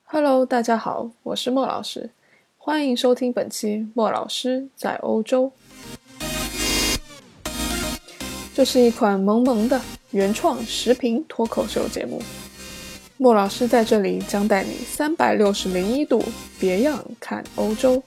Hello， 大家好，我是莫老师，欢迎收听本期莫老师在欧洲。这是一款萌萌的原创视频脱口秀节目，莫老师在这里将带你360度别样看欧洲。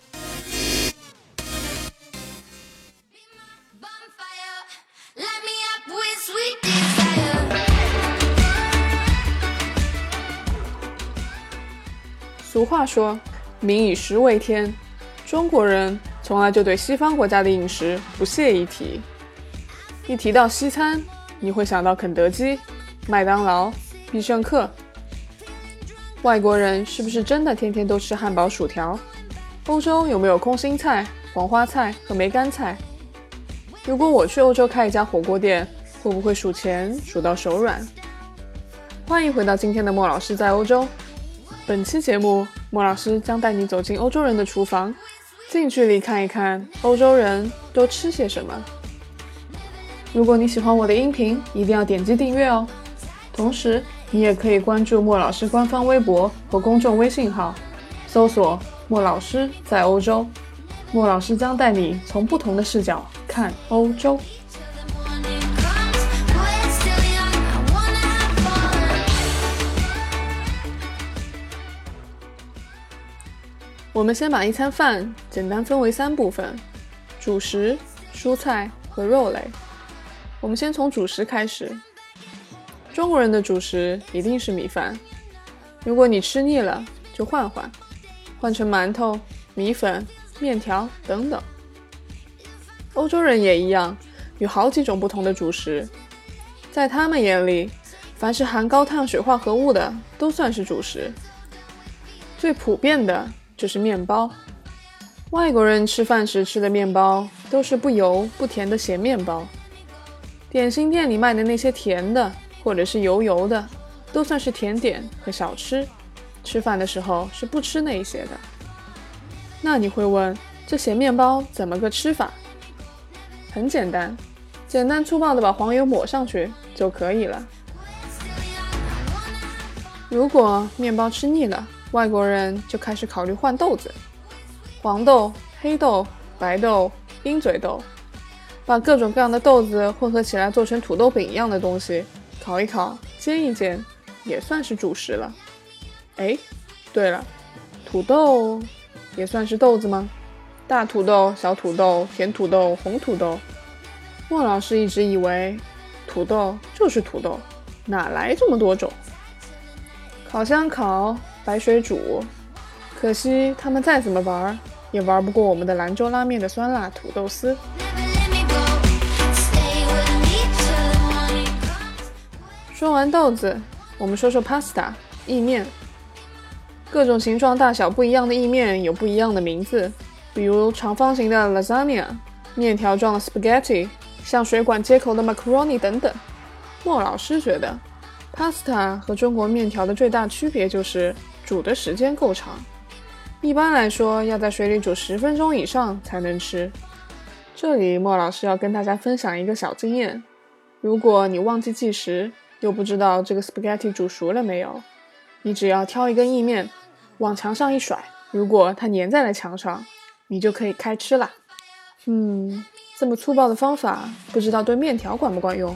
俗话说民以食为天，中国人从来就对西方国家的饮食不屑一提。一提到西餐，你会想到肯德基、麦当劳、必胜客。外国人是不是真的天天都吃汉堡薯条？欧洲有没有空心菜、黄花菜和梅干菜？如果我去欧洲开一家火锅店，会不会数钱数到手软？欢迎回到今天的莫老师在欧洲。本期节目，莫老师将带你走进欧洲人的厨房，近距离看一看欧洲人都吃些什么。如果你喜欢我的音频，一定要点击订阅哦。同时，你也可以关注莫老师官方微博和公众微信号，搜索莫老师在欧洲。莫老师将带你从不同的视角看欧洲。我们先把一餐饭简单分为3部分：主食、蔬菜和肉类。我们先从主食开始。中国人的主食一定是米饭，如果你吃腻了，就换成馒头、米粉、面条等等。欧洲人也一样，有好几种不同的主食，在他们眼里，凡是含高碳水化合物的都算是主食。最普遍的就是面包。外国人吃饭时吃的面包都是不油不甜的咸面包，点心店里卖的那些甜的或者是油的都算是甜点和小吃，吃饭的时候是不吃那一些的。那你会问，这咸面包怎么个吃法？很简单，简单粗暴的把黄油抹上去就可以了。如果面包吃腻了，外国人就开始考虑换豆子，黄豆、黑豆、白豆、鹰嘴豆，把各种各样的豆子混合起来做成土豆饼一样的东西，烤一烤，煎一煎，也算是主食了。对了，土豆也算是豆子吗？大土豆、小土豆、甜土豆、红土豆。莫老师一直以为土豆就是土豆，哪来这么多种？烤箱烤，白水煮，可惜他们再怎么玩也玩不过我们的兰州拉面的酸辣土豆丝。说完豆子，我们说说 pasta 意面。各种形状大小不一样的意面有不一样的名字，比如长方形的 lasagna， 面条状的 spaghetti， 像水管接口的 macaroni 等等。莫老师觉得Pasta 和中国面条的最大区别就是煮的时间够长，一般来说要在水里煮10分钟以上才能吃。这里莫老师要跟大家分享一个小经验，如果你忘记计时，又不知道这个 spaghetti 煮熟了没有，你只要挑一根意面往墙上一甩，如果它粘在了墙上，你就可以开吃啦。这么粗暴的方法，不知道对面条管不管用。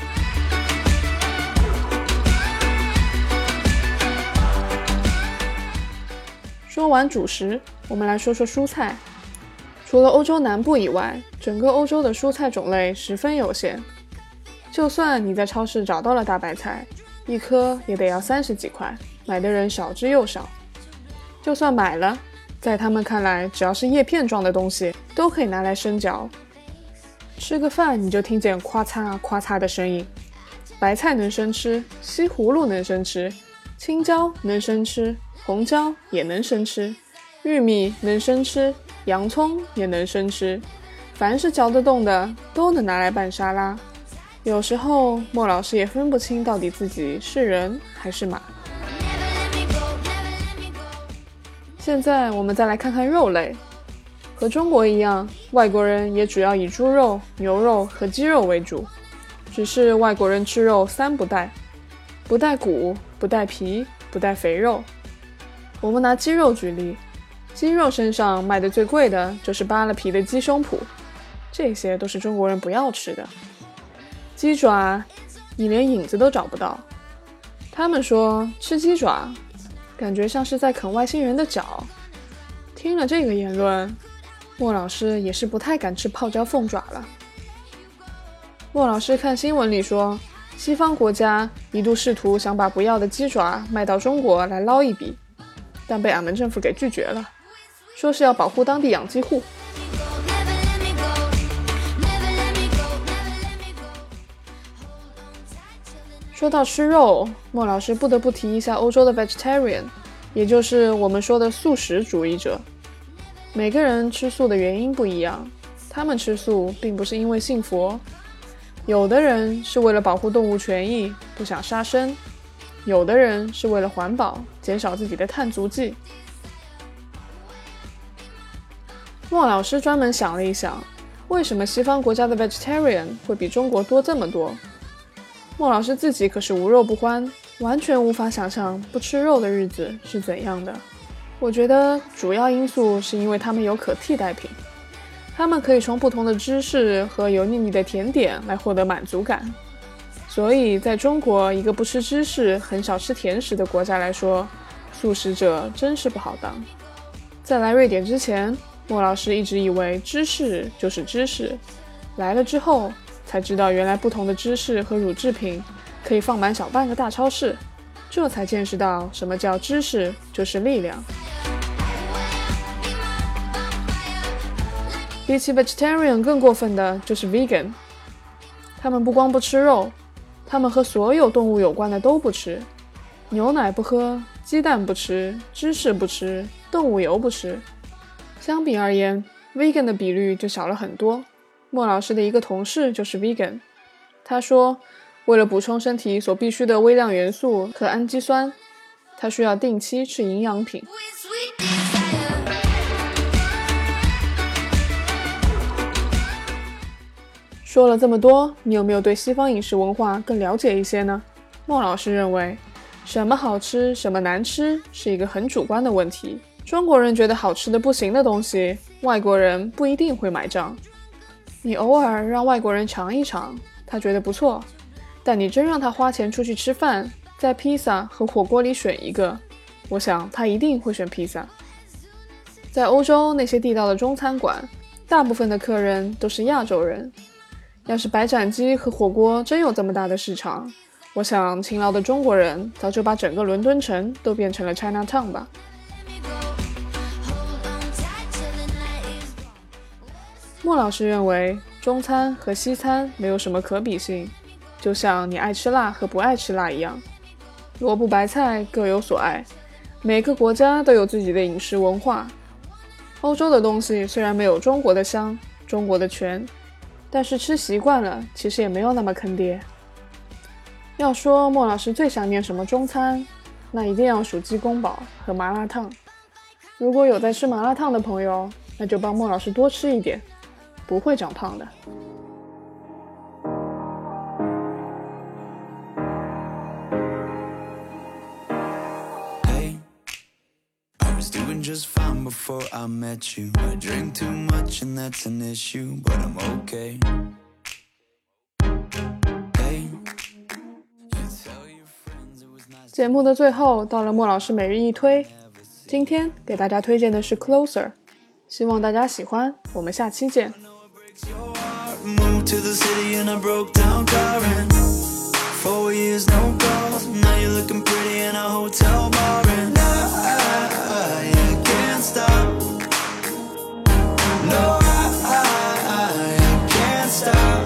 说完主食，我们来说说蔬菜。除了欧洲南部以外，整个欧洲的蔬菜种类十分有限。就算你在超市找到了大白菜，一颗也得要30几块，买的人少之又少。就算买了，在他们看来，只要是叶片状的东西，都可以拿来生嚼。吃个饭你就听见咔嚓咔嚓的声音。白菜能生吃，西葫芦能生吃，青椒能生吃，红椒也能生吃，玉米能生吃，洋葱也能生吃，凡是嚼得动的都能拿来拌沙拉。有时候莫老师也分不清到底自己是人还是马。现在我们再来看看肉类。和中国一样，外国人也主要以猪肉、牛肉和鸡肉为主，只是外国人吃肉3不带：不带骨，不带皮，不带肥肉。 我们拿鸡肉举例，鸡肉身上卖的最贵的就是扒了皮的鸡胸脯，这些都是中国人不要吃的。鸡爪你连影子都找不到，他们说吃鸡爪感觉像是在啃外星人的脚。听了这个言论，莫老师也是不太敢吃泡椒凤爪了。莫老师看新闻里说，西方国家一度试图想把不要的鸡爪卖到中国来捞一笔，但被俺们政府给拒绝了，说是要保护当地养鸡户。说到吃肉，莫老师不得不提一下欧洲的 vegetarian， 也就是我们说的素食主义者。每个人吃素的原因不一样，他们吃素并不是因为信佛，有的人是为了保护动物权益，不想杀生，有的人是为了环保，减少自己的碳足迹。莫老师专门想了一想，为什么西方国家的 vegetarian 会比中国多这么多？莫老师自己可是无肉不欢，完全无法想象不吃肉的日子是怎样的。我觉得主要因素是因为他们有可替代品，他们可以从不同的芝士和油腻腻的甜点来获得满足感。所以在中国一个不吃芝士很少吃甜食的国家来说，素食者真是不好当。在来瑞典之前，莫老师一直以为芝士就是芝士，来了之后才知道原来不同的芝士和乳制品可以放满小半个大超市，这才见识到什么叫知识就是力量。比起 vegetarian 更过分的就是 vegan， 他们不光不吃肉，他们和所有动物有关的都不吃，牛奶不喝，鸡蛋不吃，芝士不吃，动物油不吃。相比而言 vegan 的比率就小了很多。莫老师的一个同事就是 vegan， 他说为了补充身体所必需的微量元素和氨基酸，他需要定期吃营养品。说了这么多，你有没有对西方饮食文化更了解一些呢？莫老师认为，什么好吃，什么难吃，是一个很主观的问题。中国人觉得好吃的不行的东西，外国人不一定会买账。你偶尔让外国人尝一尝，他觉得不错，但你真让他花钱出去吃饭，在披萨和火锅里选一个，我想他一定会选披萨。在欧洲那些地道的中餐馆，大部分的客人都是亚洲人。要是白斩鸡和火锅真有这么大的市场，我想勤劳的中国人早就把整个伦敦城都变成了 Chinatown 吧。莫老师认为，中餐和西餐没有什么可比性，就像你爱吃辣和不爱吃辣一样，萝卜白菜各有所爱，每个国家都有自己的饮食文化。欧洲的东西虽然没有中国的香，中国的全，但是吃习惯了，其实也没有那么坑爹。要说莫老师最想念什么中餐，那一定要数鸡公煲和麻辣烫。如果有在吃麻辣烫的朋友，那就帮莫老师多吃一点，不会长胖的。 Just fine before I met you. I drink too much and that's an issue, but I'm okay. Hey, you tell your friends it was nice. 节目的最后到了莫老师每日一推，今天给大家推荐的是 Closer， 希望大家喜欢，我们下期见。 Moved to the city and I broke down crying. 4 years no calls, now you're looking pretty in a hotel bar and I can't stop. No, I can't stop.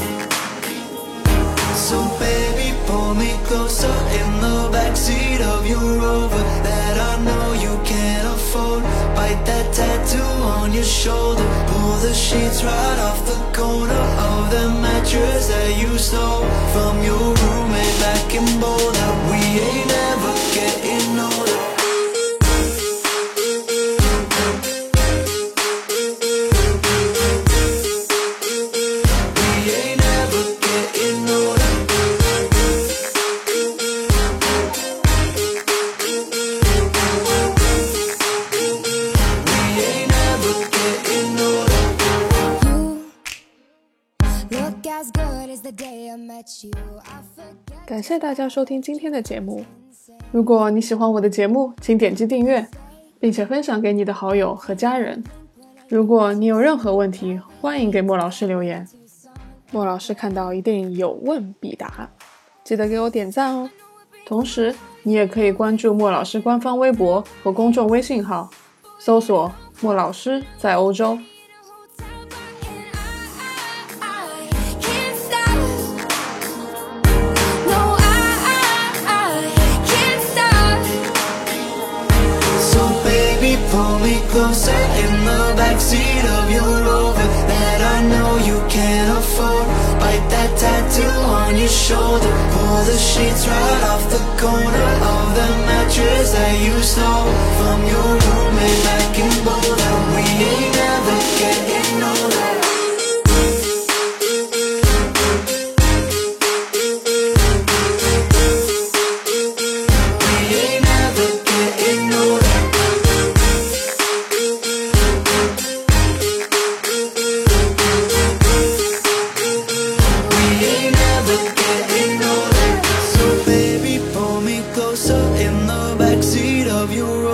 So baby, pull me closer in the backseat of your Rover that I know you can't afford. Bite that tattoo on your shoulder. Pull the sheets right off the corner of the mattress that you stole from your roommate back in Boulder. We ain't ever getting older. We ain't ever getting older. 感谢大家收听今天的节目。如果你喜欢我的节目，请点击订阅，并且分享给你的好友和家人。如果你有任何问题，欢迎给莫老师留言。莫老师看到一定有问必答，记得给我点赞哦。同时，你也可以关注莫老师官方微博和公众微信号，搜索莫老师在欧洲。 Pull me closer in the backseat of your Rover that I know you can't afford. Bite that tattoo on your shoulder. Pull the sheets right off the corner of the mattress that you stole from your roommate back in Boulder. We ain't never getting older. Closer in the backseat of your